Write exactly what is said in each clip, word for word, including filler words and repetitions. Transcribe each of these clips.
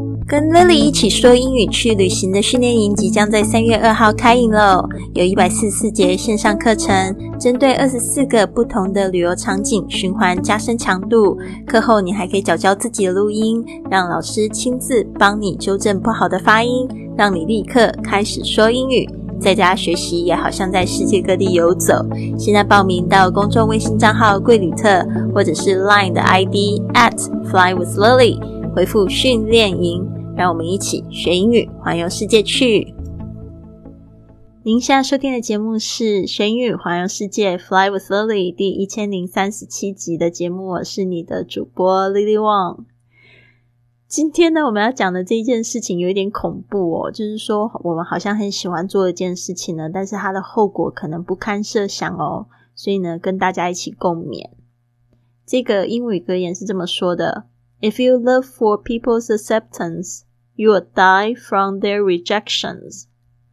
跟 Lily 一起说英语去旅行的训练营即将在三月二号开营咯，有一百四十四节线上课程，针对二十四个不同的旅游场景循环加深强度。课后你还可以缴交自己的录音，让老师亲自帮你纠正不好的发音，让你立刻开始说英语。在家学习也好像在世界各地游走。现在报名到公众微信账号贵旅特，或者是 Line 的 I D at flywithlily， 回复训练营，让我们一起学英语环游世界去。您现在收听的节目是学英语环游世界 Fly with Lily 第一千零三十七集的节目，我是你的主播 Lily Wong。今天呢，我们要讲的这一件事情有一点恐怖哦，就是说我们好像很喜欢做一件事情呢，但是它的后果可能不堪设想哦，所以呢，跟大家一起共勉。这个英语格言是这么说的 ：If you live for people's acceptance, you will die from their rejections.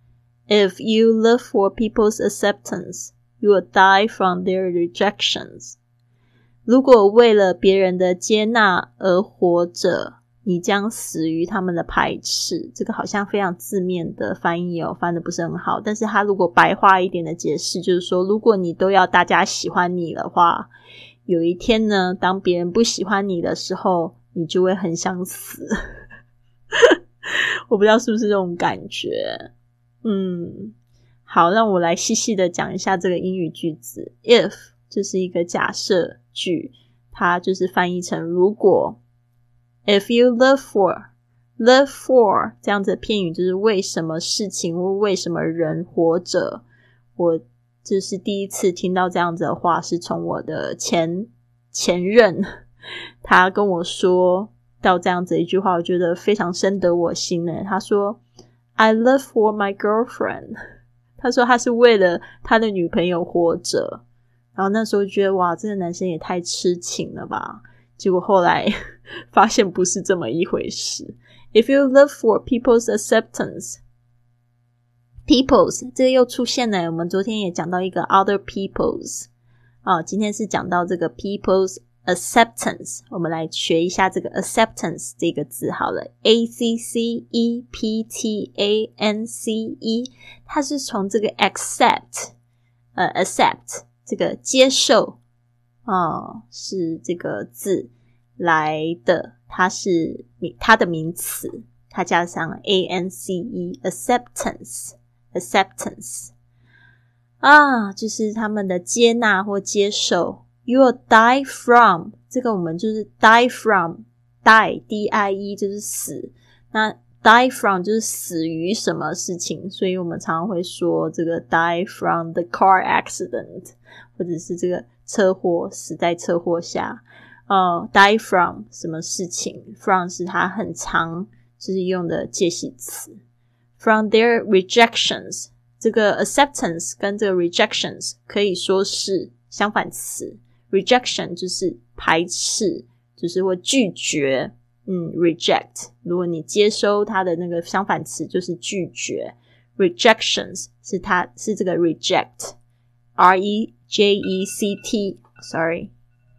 If you live for people's acceptance, you will die from their rejections. 如果为了别人的接纳而活着，你将死于他们的排斥。这个好像非常字面的翻译哦，翻得不是很好，但是他如果白话一点的解释，就是说如果你都要大家喜欢你的话，有一天呢，当别人不喜欢你的时候，你就会很想死。我不知道是不是这种感觉。嗯，好，让我来细细的讲一下这个英语句子。 If 就是一个假设句，它就是翻译成如果。If you live for, live for 这样子的片语就是为什么事情或为什么人活着。我就是第一次听到这样子的话，是从我的前前任，他跟我说到这样子一句话，我觉得非常深得我心呢。他说 I live for my girlfriend， 他说他是为了他的女朋友活着。然后那时候觉得哇，这个男生也太痴情了吧。结果后来发现不是这么一回事。 If you live for people's acceptance, people's 这个又出现了，我们昨天也讲到一个 other people's、哦、今天是讲到这个 people's acceptance。 我们来学一下这个 acceptance 这个字好了， A C C E P T A N C E， 它是从这个 accept 呃 accept 这个接受哦，是这个字来的，它是它的名词，它加上 A N C E acceptance acceptance 啊，就是他们的接纳或接受。 You will die from 这个我们就是 die from die D I E 就是死，那 die from 就是死于什么事情，所以我们常常会说这个 die from the car accident， 或者是这个车祸，死在车祸下。呃、uh, die from 什么事情， from 是它很常就是用的介系词。 From their rejections， 这个 acceptance 跟这个 rejections 可以说是相反词。 rejection 就是排斥，就是会拒绝。嗯 reject 如果你接收它的那个相反词就是拒绝。 rejections 是它是这个 reject R E J E C T sorry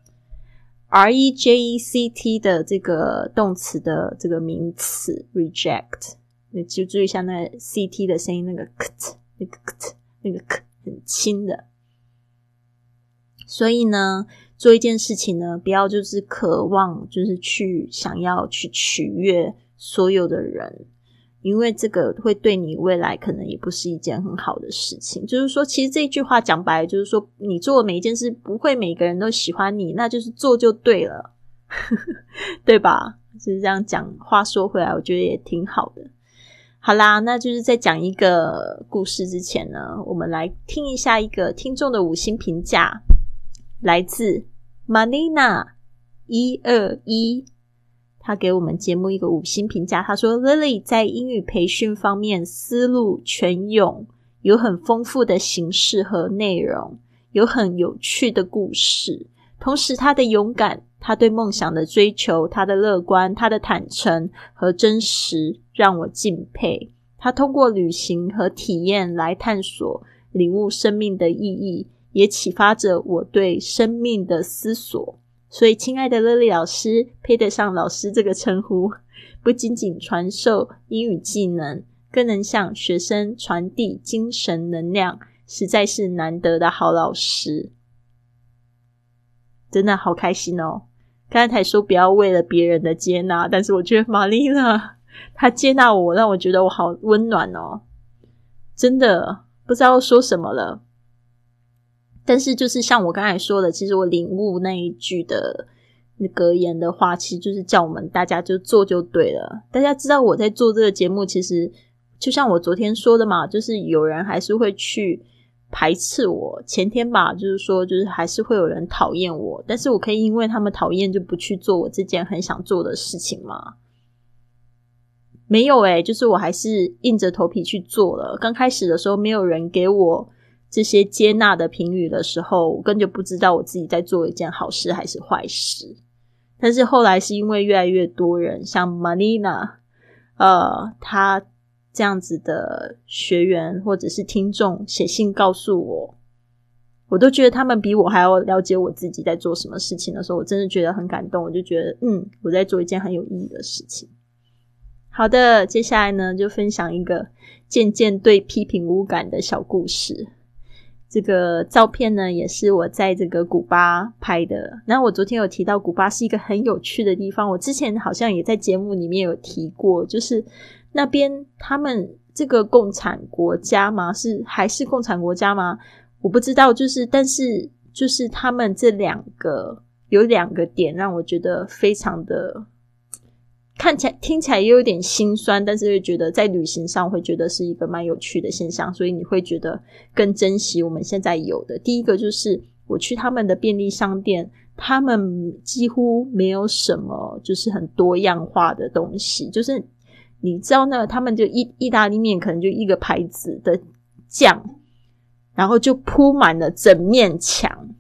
R E J E C T 的这个动词的这个名词 reject， 你就注意一下那个 C T 的声音，那个 kt 那个 kt 那个 k 很轻的。所以呢，做一件事情呢，不要就是渴望就是去想要去取悦所有的人，因为这个会对你未来可能也不是一件很好的事情。就是说其实这句话讲白了就是说，你做的每一件事不会每个人都喜欢你，那就是做就对了。对吧？就是这样讲，话说回来我觉得也挺好的。好啦，那就是在讲一个故事之前呢，我们来听一下一个听众的五星评价，来自 Manina 一二一，他给我们节目一个五星评价，他说 Lily 在英语培训方面思路全涌，有很丰富的形式和内容，有很有趣的故事，同时他的勇敢，他对梦想的追求，他的乐观，他的坦诚和真实让我敬佩。他通过旅行和体验来探索领悟生命的意义，也启发着我对生命的思索。所以亲爱的 Lily 老师，配得上老师这个称呼，不不仅仅传授英语技能，更能向学生传递精神能量，实在是难得的好老师。真的好开心哦。刚才说不要为了别人的接纳，但是我觉得玛丽娜她接纳我，让我觉得我好温暖哦。真的不知道说什么了。但是就是像我刚才说的，其实我领悟那一句的格言的话，其实就是叫我们大家就做就对了。大家知道我在做这个节目，其实就像我昨天说的嘛，就是有人还是会去排斥我，前天吧，就是说就是还是会有人讨厌我，但是我可以因为他们讨厌就不去做我这件很想做的事情吗？没有诶、欸、就是我还是硬着头皮去做了。刚开始的时候没有人给我这些接纳的评语的时候，我根本就不知道我自己在做一件好事还是坏事。但是后来是因为越来越多人像 Marina 呃，他这样子的学员或者是听众写信告诉我，我都觉得他们比我还要了解我自己在做什么事情的时候，我真的觉得很感动。我就觉得嗯，我在做一件很有意义的事情。好的，接下来呢就分享一个渐渐对批评无感的小故事。这个照片呢也是我在这个古巴拍的。那我昨天有提到古巴是一个很有趣的地方，我之前好像也在节目里面有提过，就是那边他们这个共产国家吗？是还是共产国家吗？我不知道，就是但是就是他们这两个有两个点让我觉得非常的看起来听起来也有点心酸，但是会觉得在旅行上会觉得是一个蛮有趣的现象，所以你会觉得更珍惜我们现在有的。第一个就是我去他们的便利商店，他们几乎没有什么就是很多样化的东西，就是你知道那他们就意意大利面可能就一个牌子的酱，然后就铺满了整面墙，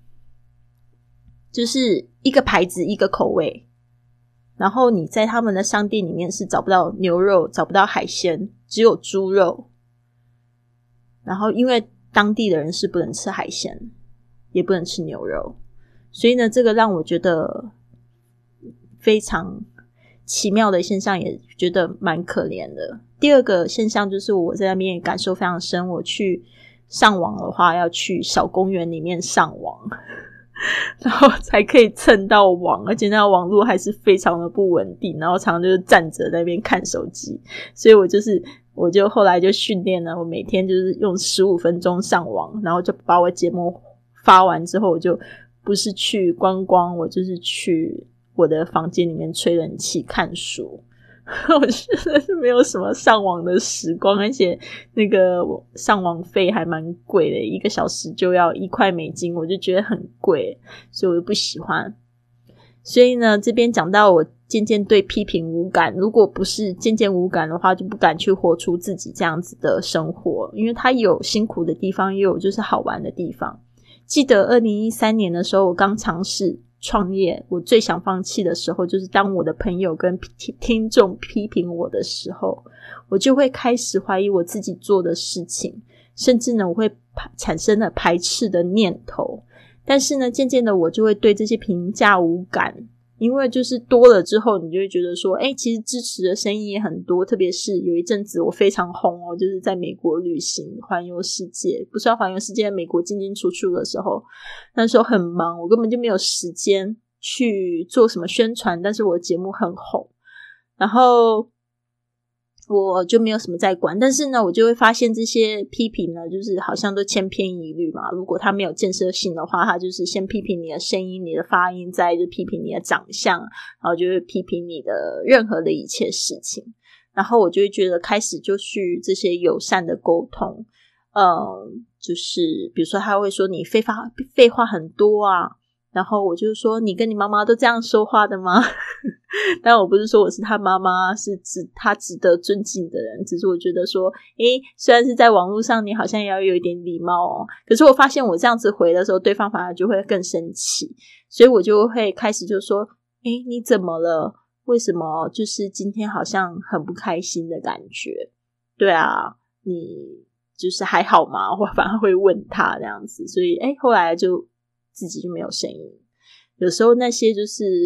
就是一个牌子一个口味。然后你在他们的商店里面是找不到牛肉，找不到海鲜，只有猪肉。然后因为当地的人是不能吃海鲜，也不能吃牛肉，所以呢这个让我觉得非常奇妙的现象，也觉得蛮可怜的。第二个现象就是我在那边也感受非常深，我去上网的话要去小公园里面上网然后才可以蹭到网，而且那网络还是非常的不稳定，然后常常就是站着在那边看手机，所以我就是我就后来就训练了，我每天就是用十五分钟上网，然后就把我节目发完之后，我就不是去观光，我就是去我的房间里面吹冷气看书我真的是没有什么上网的时光，而且那个上网费还蛮贵的，一个小时就要一块美金，我就觉得很贵，所以我就不喜欢。所以呢这边讲到我渐渐对批评无感，如果不是渐渐无感的话，就不敢去活出自己这样子的生活，因为它有辛苦的地方，也有就是好玩的地方。记得二零一三年的时候，我刚尝试创业，我最想放弃的时候，就是当我的朋友跟听众批评我的时候，我就会开始怀疑我自己做的事情，甚至呢我会产生了排斥的念头。但是呢渐渐的我就会对这些评价无感，因为就是多了之后你就会觉得说诶其实支持的声音也很多，特别是有一阵子我非常红哦，就是在美国旅行环游世界，不是要环游世界，美国进进出出的时候，那时候很忙，我根本就没有时间去做什么宣传，但是我的节目很红，然后我就没有什么在管。但是呢我就会发现这些批评呢就是好像都千篇一律嘛，如果他没有建设性的话，他就是先批评你的声音你的发音，再就批评你的长相，然后就会批评你的任何的一切事情。然后我就会觉得开始就去这些友善的沟通，嗯，就是比如说他会说你废话废话很多啊，然后我就说你跟你妈妈都这样说话的吗但我不是说我是他妈妈，是指他值得尊敬的人，只是我觉得说诶虽然是在网络上你好像也要有一点礼貌哦，可是我发现我这样子回的时候对方反而就会更生气，所以我就会开始就说诶你怎么了，为什么就是今天好像很不开心的感觉，对啊你就是还好吗，我反而会问他这样子，所以诶后来就自己就没有声音。有时候那些就是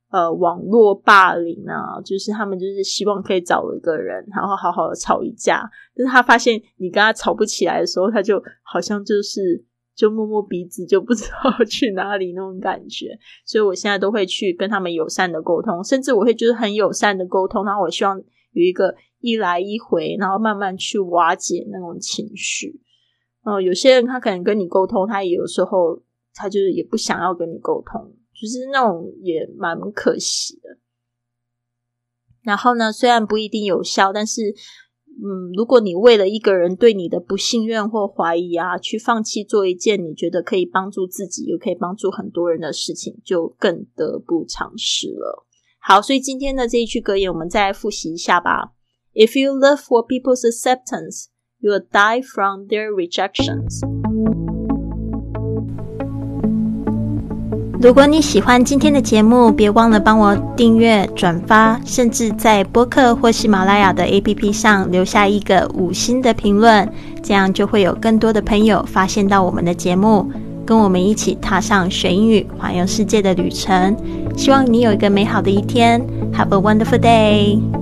呃网络霸凌啊，就是他们就是希望可以找一个人然后好好的吵一架，但是他发现你跟他吵不起来的时候，他就好像就是就摸摸鼻子就不知道去哪里那种感觉。所以我现在都会去跟他们友善的沟通，甚至我会就是很友善的沟通，然后我希望有一个一来一回，然后慢慢去瓦解那种情绪。呃，有些人他可能跟你沟通，他也有时候他就是也不想要跟你沟通，就是那种也蛮可惜的。然后呢，虽然不一定有效，但是嗯，如果你为了一个人对你的不信任或怀疑啊，去放弃做一件你觉得可以帮助自己又可以帮助很多人的事情，就更得不偿失了。好，所以今天的这一句格言我们再来复习一下吧。 If you live for people's acceptance, you will die from their rejections。 如果你喜欢今天的节目，别忘了帮我订阅、转发，甚至在播客或喜马拉雅的 A P P 上留下一个五星的评论，这样就会有更多的朋友发现到我们的节目，跟我们一起踏上学英语环游世界的旅程。希望你有一个美好的一天。 Have a wonderful day!